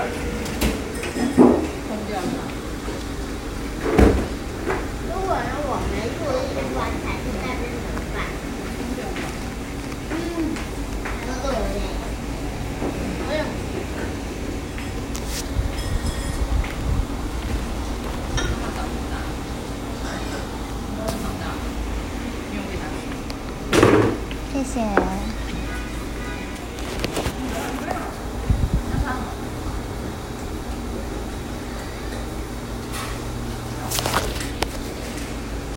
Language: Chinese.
空掉了。 如果我们做一碗彩色大便怎么办？都有嘞。哎呀。 谢谢。